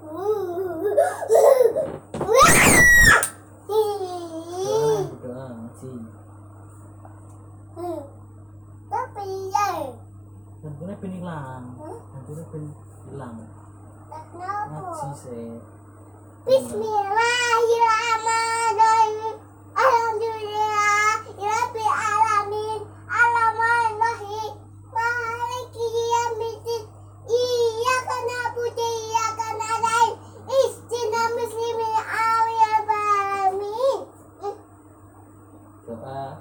Tentunya penilang, tentunya penilang. Ngaji sih. Bismillahirrahmanirrahim. Alhamdulillahirabbil alamin. Arrahmanirrahim. Maliki yaumiddin. Iyyaka na'budu wa iyyaka nasta'in. Ihdinas siratal mustaqim. Doa.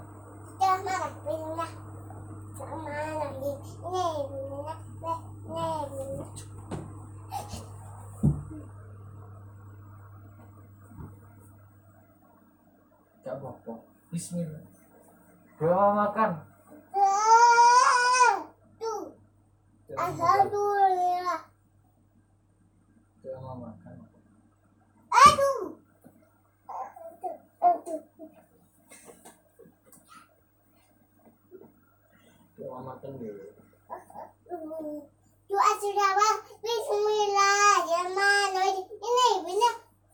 Gak apa-apa. Bismillah. Doa makan. Alhamdulillah. Doa makan. Doa makan dulu. Doa sudah bang. Bismillahirrahmanirrahim. Ini benar.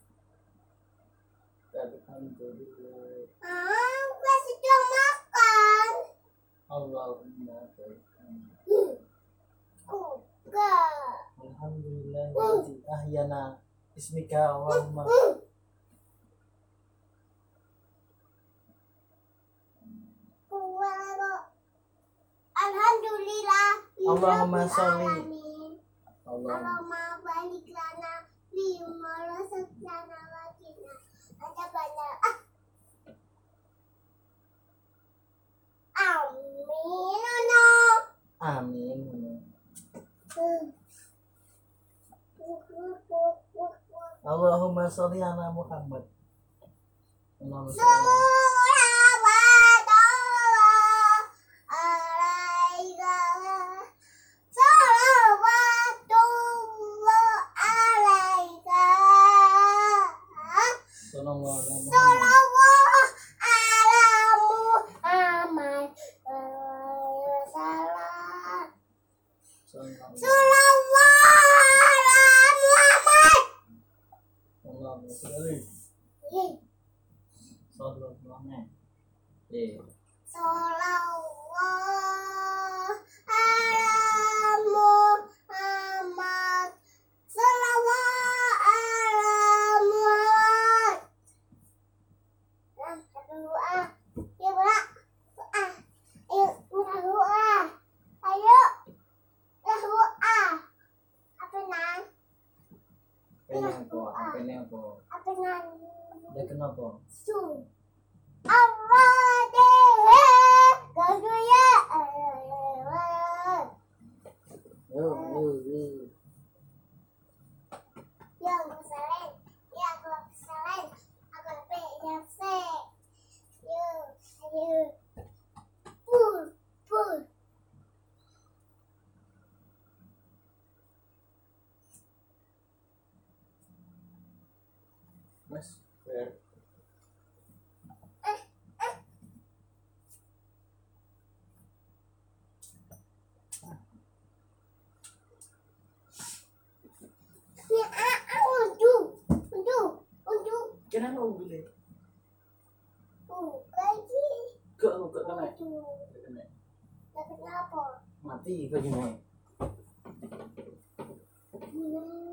Alhamdulillah. Gua sudah makan. Allahumma barik. Enggak. Alhamdulillah ahyana ismika Allahumma. Alhamdulillah. Allahumma sholli. Allahumma barik lana bima razaqtana wa qina adzabannar. Amin. Amin. Allahumma sholli ala Muhammad. Allahumma sholli kenapa? Mas, kenapa boleh? Kok kena? Kenapa? Mati kok gini.